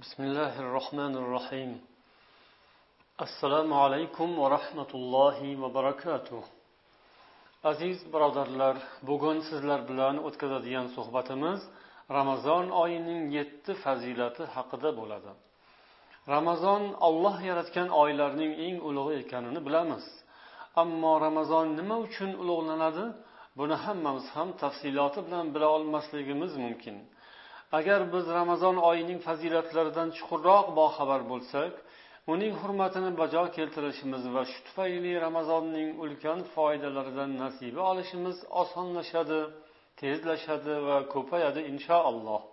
Bismillahirrohmanirrohim. Assalomu alaykum va rahmatullohi va barakatuh. Aziz birodarlar, bugun sizlar bilan o'tkazadigan suhbatimiz Ramazon oyining 7 fazilati haqida bo'ladi. Ramazon Alloh yaratgan oylarning eng ulug'i ekanini bilamiz. Ammo Ramazon nima uchun ulug'lanadi? Buni hammamiz ham tafsiloti bilan bila olmasligimiz mumkin. Agar biz Ramazon oyining fazilatlaridan chuqurroq boxabar bo'lsak, uning hurmatini bajo keltirishimiz va shu tufayli Ramazonning ulkan foydalaridan nasiba olishimiz osonlashadi, tezlashadi va ko'payadi inshaalloh.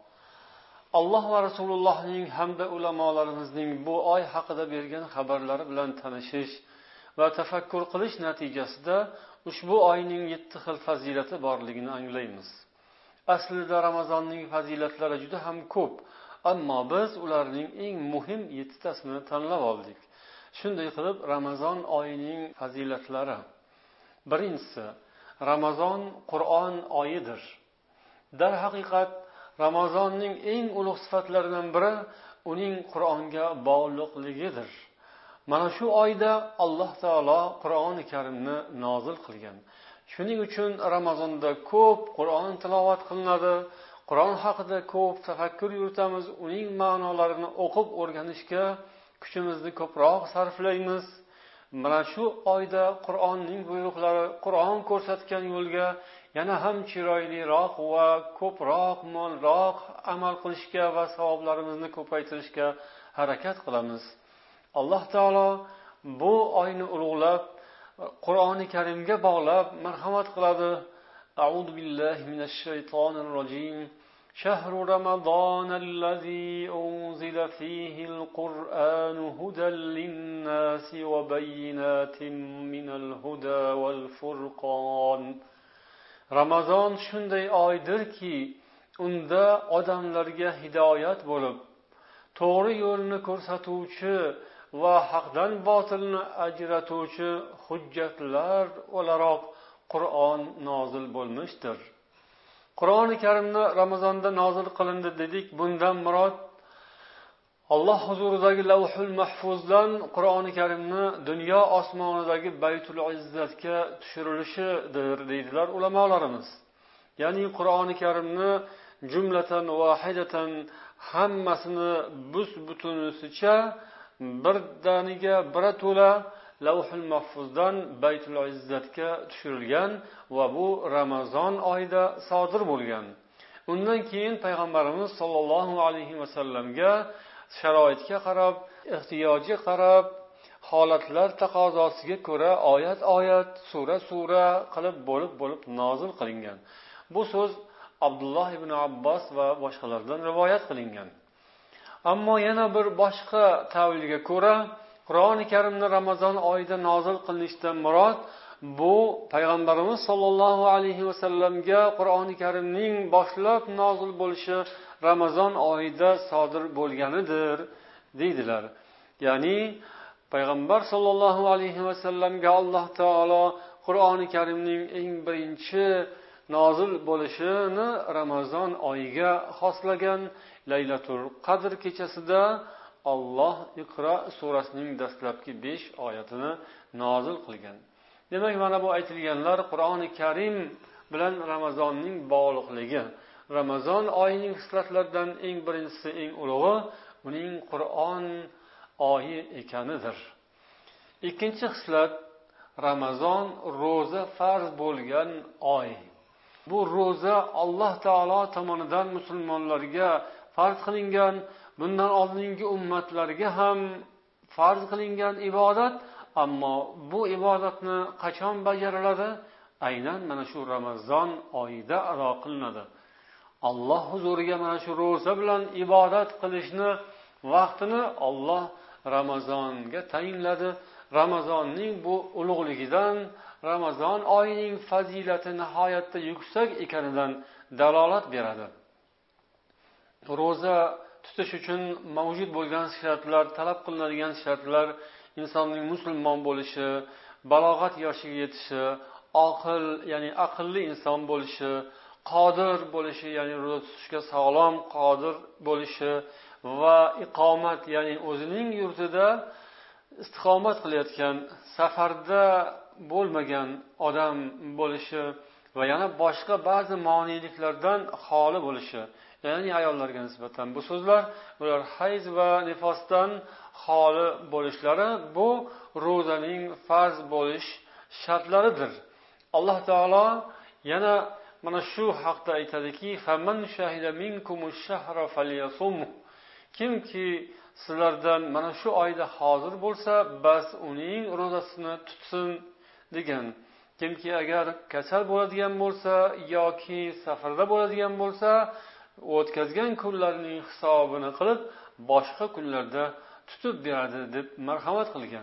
Alloh va Rasulullohning hamda ulamolarimizning bu oy haqida bergan xabarlari bilan tanishish va tafakkur qilish natijasida ushbu oyning 7 xil fazilati borligini anglaymiz. Aslida Ramazonning fazilatlari juda ham ko'p, ammo biz ularning eng muhim 7 tasini tanlab oldik. Shunday qilib, Ramazon oyining fazilatlari. Birinchisi, Ramazon Qur'on oyidir. Darhaqiqat, Ramazonning eng ulug' sifatlaridan biri uning Qur'onga bog'liqligidir. Mana shu oyda Alloh taolo Qur'oni Karimni nozil qilgan. Shuning uchun Ramazonda ko'p Qur'on tilovat qilinadi, Qur'on haqida ko'p tafakkur yuritamiz, uning ma'nolarini o'qib o'rganishga kuchimizni ko'proq sarflaymiz. Mana shu oyda Qur'onning buyruqlari, Qur'on ko'rsatgan yo'lga yana ham chiroyliroq va ko'proq, mo'lroq amal qilishga va savoblarimizni ko'paytirishga harakat qilamiz. Alloh taolo bu oyni ulug'lab, Qur'oni Karimga bog'lab marhamat qiladi. A'udhu billahi minash shaytonir rojim. Shahru ramazanallazi unzila fihil Qur'anu hudan lin-nasi va bayyinatin minal huda wal furqon. Ramazon shunday oydirki, unda odamlarga hidoyat bo'lib, to'g'ri yo'lni ko'rsatuvchi va haqdan botilni ajratuvchi hujjatlar o'laroq Qur'on nozil bo'lmishdir. Qur'oni Karimni Ramazonda nozil qilindi dedik. Bundan murod Alloh huzuridagi Lavhul Mahfuzdan Qur'oni Karimni dunyo osmonidagi Baytul Izzatga tushirilishidir deydilar ulamolarimiz. Ya'ni Qur'oni Karimni jumlatan vahidatan hammasini bus-butunisicha birdaniga birato'la Lavhul Mahfuzdan Baytul Izzatga tushirilgan va bu Ramazon oyida sodir bo'lgan. Undan keyin payg'ambarimiz sollallohu alayhi vasallamga sharoitga qarab, ehtiyojga qarab, holatlar taqozosiga ko'ra oyat-oyat, sura-sura qilib bo'lib nozil qilingan. Bu so'z Abdulloh ibn Abbos va boshqalardan rivoyat qilingan. Ammo yana bir boshqa tavilga ko'ra, Qur'oni Karimni Ramazon oyida nozil qilinishdan murod bu payg'ambarimiz sollallohu alayhi vasallamga Qur'oni Karimning boshlab nozil bo'lishi Ramazon oyida sodir bo'lganidir deydilar. Ya'ni payg'ambar sollallohu alayhi vasallamga Alloh taolo Qur'oni Karimning eng birinchi nozil bo'lishini Ramazon oyiga xoslagan. Laylatul Qadr kechasida Alloh Iqro surasining dastlabki 5 oyatini nozil qilgan. Demak, mana bu aytilganlar Qur'oni Karim bilan Ramazonning bog'liqligi. Ramazon oyining xislatlaridan eng birinchisi, eng ulug'i uning Qur'on oyi ekanidir. Ikkinchi xislat, Ramazon ro'za farz bo'lgan oy. Bu ro'za Alloh taolo tomonidan musulmonlarga farz qilingan, bundan oldingi ummatlarga ham farz qilingan ibodat, ammo bu ibodatni qachon bajariladi? Aynan mana shu Ramazon oyida ado qilinadi. Alloh huzuriga mana shu ro'za bilan ibodat qilishni vaqtini Alloh Ramazonga tayinladi. Ramazonning bu ulug'ligidan, Ramazon oyining fazilati nihoyatda yuksak ekanidan dalolat beradi. Ro'za tutish uchun mavjud bo'lgan shartlar, talab qilinadigan shartlar insonning musulmon bo'lishi, balog'at yoshiga yetishi, oqil, ya'ni aqlli inson bo'lishi, qodir bo'lishi, ya'ni ro'za tutishga sog'lom qodir bo'lishi va iqomat, ya'ni o'zining yurtida istiqomat qilayotgan, safarda bo'lmagan odam bo'lishi va yana boshqa ba'zi moniliklardan xoli bo'lishi, ya'ni ayollarga nisbatan bu so'zlar, ular hayz va nifosdan xoli bo'lishlari bu ro'zaning farz bo'lish shartlaridir. Alloh taolo yana mana shu haqda aytadiki, "Faman shahida minkumush shahra falyasum." Kimki sizlardan mana shu oyda hozir bo'lsa, bas uning ro'zasini tutsin degan. Kimki agar kasal bo'ladigan bo'lsa yoki safarda bo'ladigan bo'lsa, o'tkazgan kunlarning hisobini qilib, boshqa kunlarda tutib beradi deb marhamat qilgan.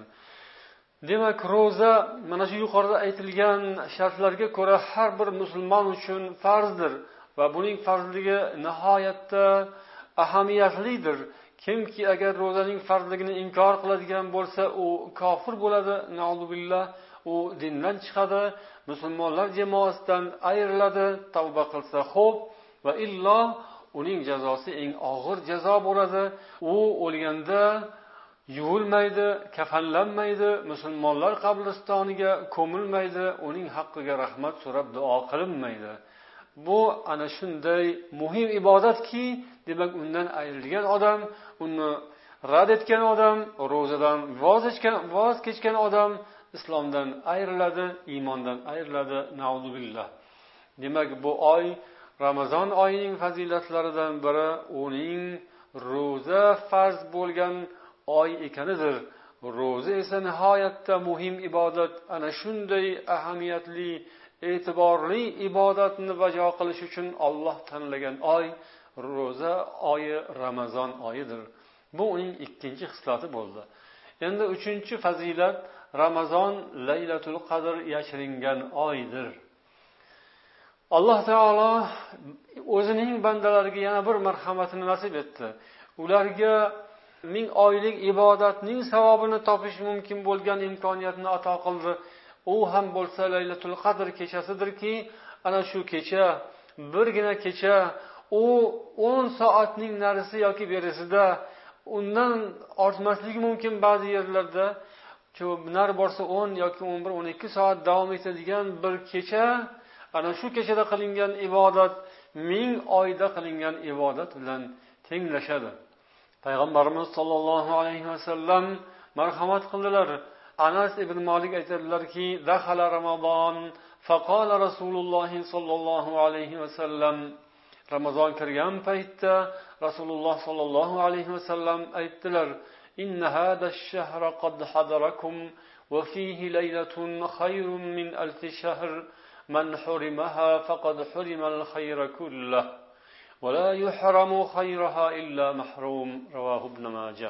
Demak, ro'za mana shu yuqorida aytilgan shartlarga ko'ra har bir musulmon uchun farzdir va buning farzligi nihoyatda ahamiyatlidir. Kimki agar ro'zaning farzligini inkor qiladigan bo'lsa, u kofir bo'ladi, na'uzubillah, u dindan chiqadi, musulmonlar jamoasidan ayriladi, tavba qilsa xo'p, va illo uning jazosi eng og'ir jazo bo'ladi. U o'lganda yuvilmaydi, kafanlanmaydi, musulmonlar qabristoniga ko'milmaydi, uning haqqiga rahmat so'rab duo qilinmaydi. Bu ana shunday muhim ibodatki, demak undan ayrilgan odam, uni rad etgan odam, ro'zadan voz kechgan odam islomdan ayriladi, iymondan ayriladi, na'uzubillah. Demak, bu oy Ramazon oyining fazilatlaridan biri uning ro'za farz bo'lgan oy ekanidir. Ro'za esa nihoyatda muhim ibodat. Ana shunday ahamiyatli, e'tiborli ibodatni bajo qilish uchun Alloh tanlagan oy ro'za oyi, Ramazon oyidir. Bu uning ikkinchi xislati bo'ldi. Endi uchinchi fazilat, Ramazon Laylatul Qadr yashiringan oydir. Alloh taolo o'zining bandalariga yana bir marhamatini nasib etdi. Ularga 1000 oylik ibodatning savobini topish mumkin bo'lgan imkoniyatni ato qildi. U ham bo'lsa Laylatul Qadr kechasidirki, ana shu kecha, birgina kecha, u 10 soatning narisi yoki berisida, undan ortmasligi mumkin ba'zi yerlarda. Nar borsa 10 yoki 11, 12 soat davom etadigan bir kecha, ana shu kechada qilingan ibodat 1000 oyda qilingan ibodat bilan tenglashadi. Payg'ambarimiz sollallohu alayhi vasallam marhamat qildilar. Anas ibn Malik aytadilarki, "Dakhala Ramazon, faqala Rasululloh sollallohu alayhi vasallam." Ramazon kirgan paytda Rasululloh sollallohu alayhi vasallam aytdilar: "Inna hada ash-shahra qad hadarakum wa fihi laylatun khayrun min alf shahr. Man hurimaha faqad hurima al-khayra kullah. Wa la yuhramu khayraha illa mahrum." Rawahu Ibn Majah.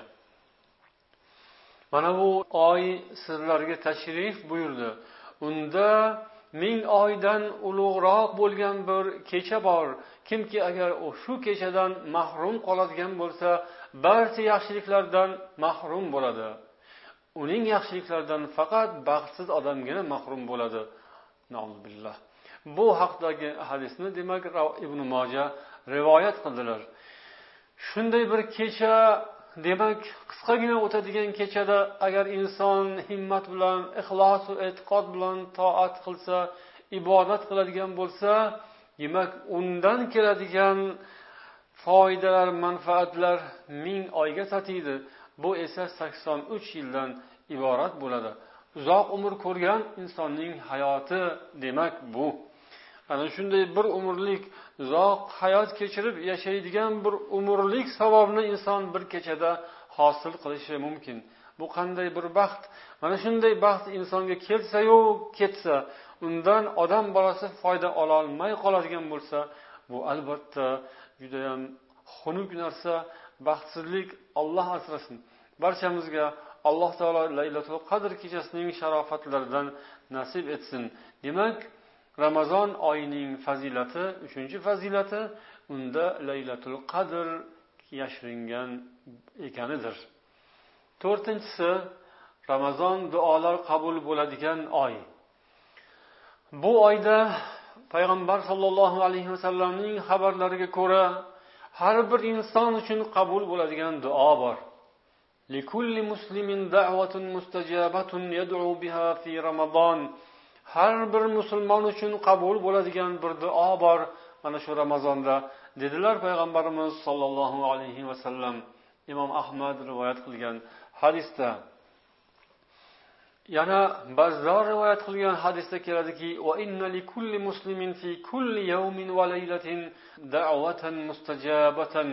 Mana bu oy sizlarga tashrif buyurdi. Unda 1000 oydan ulug'roq bo'lgan bir kecha bor. Kimki agar shu kechadan mahrum qoladigan bo'lsa, barcha yaxshiliklardan mahrum bo'ladi. Uning yaxshiliklaridan faqat baxtsiz odamgina mahrum bo'ladi. Na'uzubillah. Bu haqdagi hadisni demak Ibn Majah rivoyat qildilar. Shunday bir kecha, demak qisqagina o'tadigan kechada agar inson himmat bilan, ixlos va e'tiqod bilan toat qilsa, ibodat qiladigan bo'lsa, demak undan keladigan foydalar, manfaatlar 1000 oyga tatiydi. Bu esa 83 yildan iborat bo'ladi. Uzoq umr ko'rgan insonning hayoti demak bu. Ana shunday bir umrlik uzoq hayot kechirib yashaydigan bir umrlik savobni inson bir kechada hosil qilishi mumkin. Bu qanday bir baxt? Mana shunday baxt insonga kelsa-yu ketsa, undan odam bolasi foyda ola olmay qoladigan bo'lsa, bu albatta juda ham xunuk narsa, baxtsizlik. Alloh asrasin. Barchamizga Alloh taolo Laylatul Qadr kechasining sharofatlaridan nasib etsin. Demak, Ramazon oyining fazilati, 3-fazilati unda Laylatul Qadr yashiringan ekanidir. 4-si, Ramazon duolar qabul bo'ladigan oy. Bu oyda payg'ambar sollallohu alayhi vasallamning xabarlariga ko'ra har bir inson uchun qabul bo'ladigan duo bor. Likulli muslimin da'watun mustajabatun yad'u biha fi Ramazon. Har bir musulmon uchun qabul bo'ladigan bir duo bor mana shu Ramazonda, dedilar payg'ambarimiz sollallohu alayhi vasallam. Imom Ahmad rivoyat qilgan hadisda. Yana Bazzor rivoyat qilgan hadisda keladiki, va inna likulli muslimin fi kulli yawmin va laylatin da'watan mustajabatan.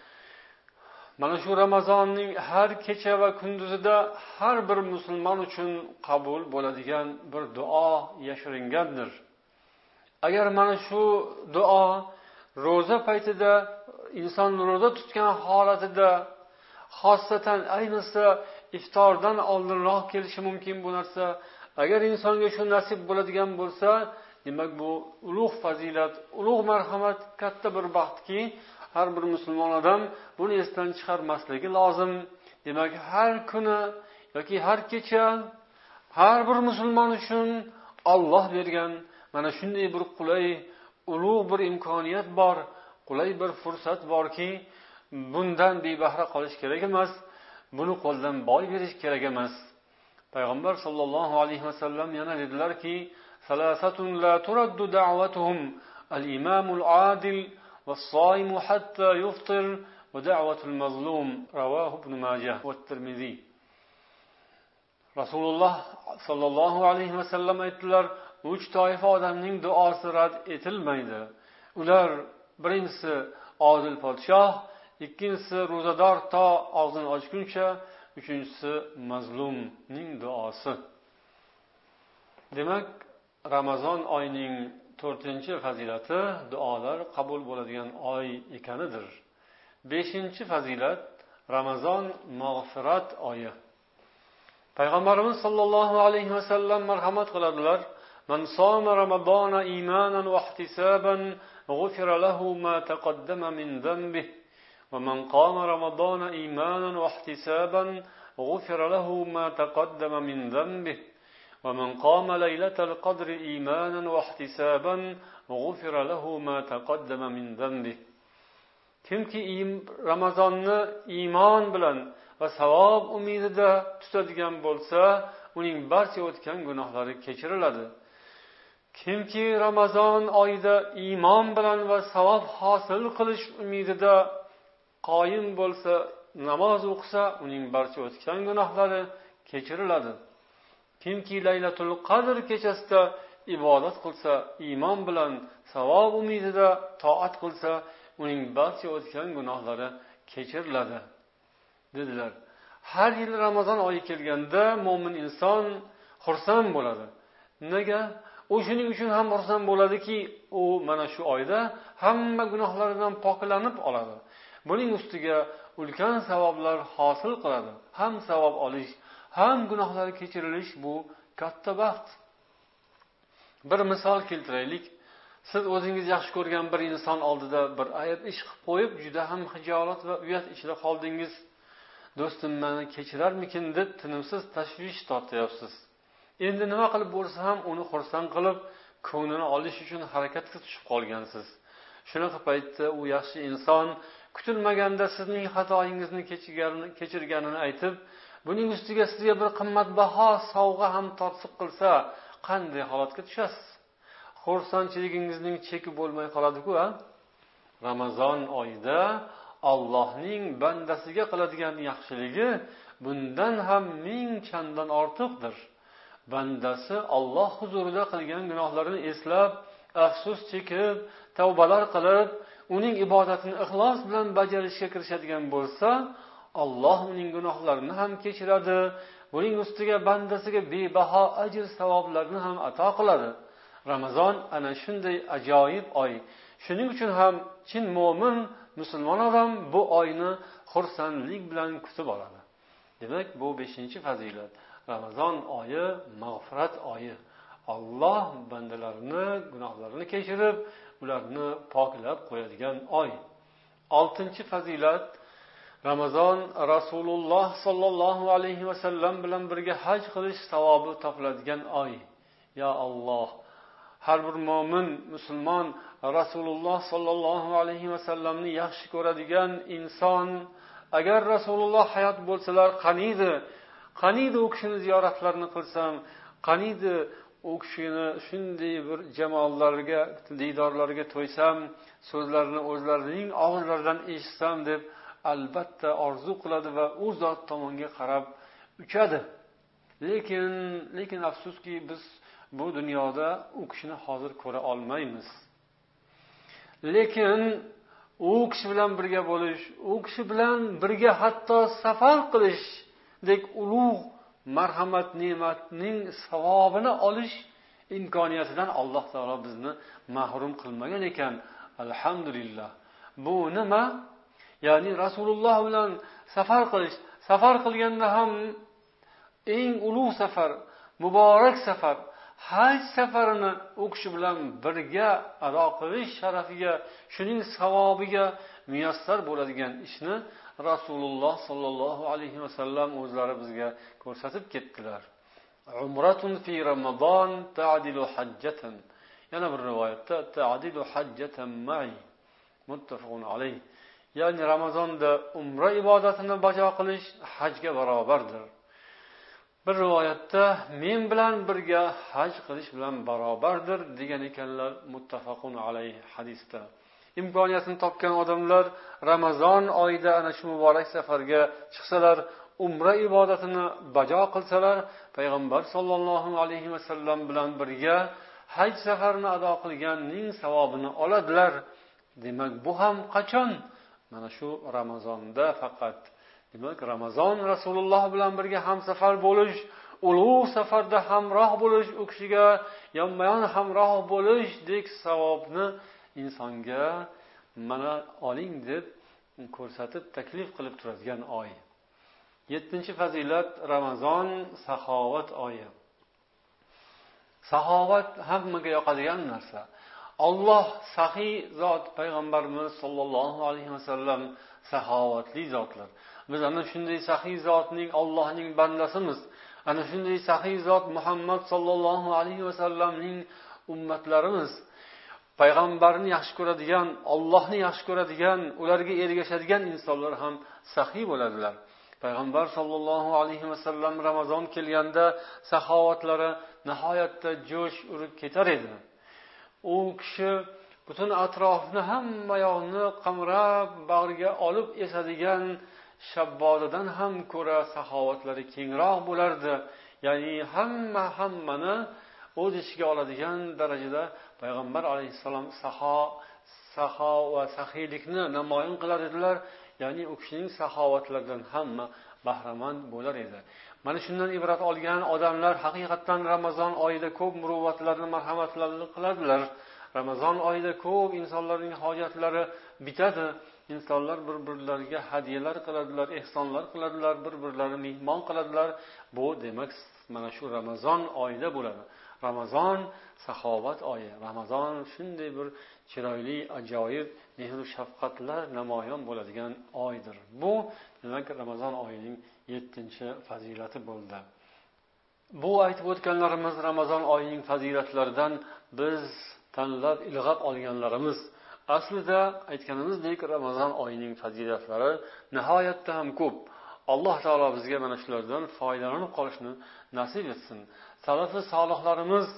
Mana shu Ramazonning har kecha va kunduzida har bir musulmon uchun qabul bo'ladigan bir duo yashiringandir. Agar mana shu duo ro'za paytida, inson ro'za tutgan holatida, xosatan ayniqsa iftordan oldinroq kelishi mumkin bu narsa. Agar insonga shu nasib bo'ladigan bo'lsa, demak bu ulug' fazilat, ulug' marhamat, katta bir baxtki, har bir musulmon odam buni esdan chiqarmasligi lozim. Demak, har kuni yoki har kecha har bir musulmon uchun Alloh bergan mana shunday bir qulay, ulug' bir imkoniyat bor, qulay bir fursat borki, bundan bebahra qolish kerak emas, buni qo'ldan boy berish kerak emas. Payg'ambar sollallohu alayhi vasallam yana dedilarki, salasatun la turaddu da'watuhum al-imamul adil was-saimu hatta yuftir va da'watul mazlum, rawahu ibn Majah va Tirmizi. Rasululloh sollallohu alayhi vasallam aytdilar, 3 toifa odamning duosi rad etilmaydi. Ular birinchisi odil podshoh, ikkinchisi ro'zador to og'zini ochguncha, uchinchisi mazlumning duosi. Demak, Ramazon oyining 4-fazilati duolar qabul bo'ladigan oy ekanidir. 5-fazilat Ramazon mag'firat oyi. Payg'ambarimiz sollallohu alayhi vasallam marhamat qiladilar: "Man soma Ramazona imanan va ihtisaban, g'ufira lahu ma taqaddama min dhanbihi." ومن قام رمضان إيمانا واحتسابا غفر له ما تقدم من ذنبه ومن قام ليلة القدر إيمانا واحتسابا غفر له ما تقدم من ذنبه. Kimki Ramazonni iymon bilan va savob umidida tutadigan bo'lsa, uning barcha o'tgan gunohlari kechiriladi. Kimki Ramazon oyida iymon bilan va savob hosil qilish umidida qoyim bo'lsa, namoz o'qisa, uning barcha o'tgan gunohlari kechiriladi. Kimki Laylatul Qadr kechasida ibodat qilsa, iymon bilan savob umidida toat qilsa, uning barcha o'tgan gunohlari kechiriladi, dedilar. Har yil Ramazon oyi kelganda mo'min inson xursand bo'ladi. Nega? U shuning uchun ham xursand bo'ladiki, u mana shu oyda hamma gunohlaridan poklanib oladi. Buning ustiga ulkan savoblar hosil qiladi. Ham savob olish, ham gunohlar kechirilish bu katta baxt. Bir misol keltiraylik. Siz o'zingiz yaxshi ko'rgan bir inson oldida bir ayb ish qilib qo'yib, juda ham hijolat va uyat ichida qoldingiz. Do'stim meni kechirarmikin deb tinimsiz tashvish tortyapsiz. Endi nima qilib bo'lsa ham uni xursand qilib, ko'nglini olish uchun harakatga tushib qolgansiz. Shunaqa paytda u yaxshi inson kutilmaganda sizning xatoyingizni kechirganini aytib, buning ustiga sizga bir qimmatbaho sovg'a ham tortiq qilsa, qanday holatga tushasiz? Xursandchiligingizning cheki bo'lmay qoladi-ku, a? Ramazon oyida Allohning bandasiga qiladigan yaxshiligi bundan ham ming chandon ortiqdir. Bandasi Alloh huzurida qilgan gunohlarini eslab, afsus chekib, tavbalar qilib, uning ibodatini ixlos bilan bajarishga kirishadigan bo'lsa, Alloh uning gunohlarini ham kechiradi, buning ustiga bandasiga bebaho ajr savoblarni ham ato qiladi. Ramazon ana shunday ajoyib oy. Shuning uchun ham chin mo'min musulmon odam bu oyni xursandlik bilan kutib oladi. Demak, bu 5-fazilat. Ramazon oyi mag'firat oyi. Alloh bandalarini gunohlarini kechirib, ularni poklab qo'yadigan oy. 6-fazilat Ramazon Rasululloh sollallohu alayhi vasallam bilan birga haj qilish savobi topiladigan oy. Ya Alloh, har bir mo'min musulmon Rasululloh sollallohu alayhi vasallamni yaxshi ko'radigan inson agar Rasululloh hayot bo'lsalar qaniydi u kishini ziyoratlarini qilsam, qaniydi u kishini shunday bir jamollarga, diydorlarga to'ysam, so'zlarini o'zlarining og'izlaridan eshitsam deb albatta orzu qiladi va u zot tomonga qarab uchadi. Lekin afsuski biz bu dunyoda u kishini hozir ko'ra olmaymiz. Lekin u kishi bilan birga bo'lish, u kishi bilan birga hatto safar qilishdek ulug' marhamat ne'matning savobini olish imkoniyatidan Alloh taolo bizni mahrum qilmagan ekan. Alhamdulillah. Bu nima? Ya'ni Rasululloh bilan safar qilganda ham eng ulug' safar, muborak safar, haj safarini u kishi bilan birga ado qilish sharafiga, shuning savobiga muyassar bo'ladigan ishni Rasululloh sollallohu alayhi vasallam o'zlari bizga ko'rsatib ketdilar. Umratun fi Ramazon ta'dilu hajjatan. Yana bir rivoyatda ta'dilu hajjatan ma'i. Muttafaqun alayh. Ya'ni Ramazonda umra ibodatini bajo qilish hajga barobardir. Bir rivoyatda men bilan birga haj qilish bilan barobardir degan ekanlar. Muttafaqun alayh hadisda. Imkoniyatini topgan odamlar Ramazon oyida ana shu muborak safarga chiqsalar, umra ibodatini bajo qilsalar, payg'ambar sollallohu alayhi vasallam bilan birga haj safarini ado qilganning savobini oladilar. Demak, bu ham qachon? Mana shu Ramazonda faqat. Demak, Ramazon Rasululloh bilan birga hamsafar bo'lish, ulug' safarda hamroh bo'lish, u kishiga yonma-yon hamroh bo'lishdek savobni insonga mana oling deb ko'rsatib taklif qilib turadigan oy. 7-fazilat Ramazon saxovat oyi. Saxovat hammaga yoqadigan narsa. Alloh saxiy zot, payg'ambarimiz sollallohu alayhi vasallam saxovatli zotlar. Biz ana shunday saxiy zotning, Allohning bandasimiz. Ana shunday saxiy zot Muhammad sollallohu alayhi vasallamning ummatlarimiz. Payg'ambarni yaxshi ko'radigan, Allohni yaxshi ko'radigan, ularga ergashadigan insonlar ham saxiy bo'ladilar. Payg'ambar sollallohu alayhi vasallam Ramazon kelganda saxovatlari nihoyatda jo'sh urib ketar edi. U kishi butun atrofni, hamma yoqni qamrab bag'riga olib esadigan shabbodadan ham ko'ra saxovatlari kengroq bo'lardi. Ya'ni hammani o'z ichiga oladigan darajada payg'ambar alayhissalom saxo va saxiylikni namoyon qilar edilar. Ya'ni u kishining saxovatlaridan hamma bahramand bo'lar edi. Mana shundan ibrat olgan odamlar haqiqatan Ramazon oyida ko'p muruvvatlarni, marhamatlarni qiladilar. Ramazon oyida ko'p insonlarning hojatlari bitadi. İnsanlar bir-birlariga hadyalar qiladilar, ehsonlar qiladilar, bir-birlarini mehmon qiladilar. Bu demak mana shu Ramazon oyida bo'ladi. Ramazon saxovat oyi. Ramazon shunday bir chiroyli, ajoyib mehr va shafqatlar namoyon bo'ladigan oydir. Bu demak Ramazon oyining 7-fazilati bo'ldi. Bu aytib o'tganlarimiz Ramazon oyining fazilatlaridan biz tanlab ilg'ab olganlarimiz. Aslida aytganimizdek Ramazon oyining fazilatlari nihoyatda ham ko'p. Alloh taolo bizga mana shulardan foydalanib qolishni nasib etsin. Salafi solihlarimiz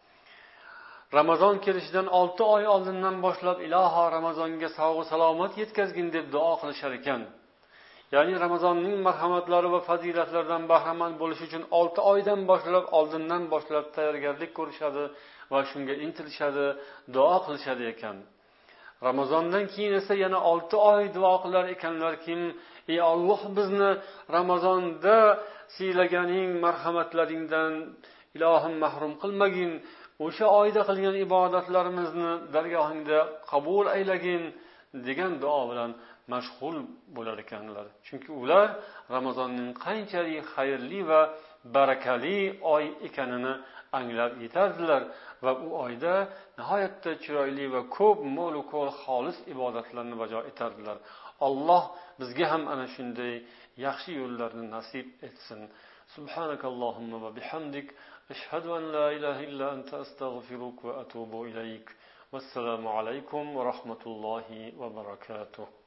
Ramazon kelishidan 6 oy oldindan boshlab iloho Ramazonga sog' salomat yetkazgin deb duo qilishar ekan. Ya'ni Ramazonning marhamatlari va fazilatlaridan bahramand bo'lish uchun 6 oydan boshlab, oldindan boshlab tayyorgarlik ko'rishadi va shunga intilishadi, duo qilishadi ekan. Ramazondan keyin esa yana 6 oy duo qilar ekanlarki, ey Alloh, bizni Ramazonda siylaganing marhamatlaringdan ilohim mahrum qilmagin. O'sha oyda qilgan ibodatlarimizni dargohingda qabul aylagin degan duo bilan mashg'ul bo'lar ekanlar. Chunki ular Ramazonning qanchalik xayrli va barakali oy ekanini anglab yetardilar va u oyda nihoyatda chiroyli va ko'p mo'l ko'l xolis ibodatlarni bajo etardilar. Alloh bizga ham ana shunday yaxshi yo'llarni nasib etsin. Subhanakallohumma va bihamdik ashhadu an la ilaha illa anta astaghfiruka va atubu ilayk. Vassalomu alaykum va rahmatullohi va barakatuh.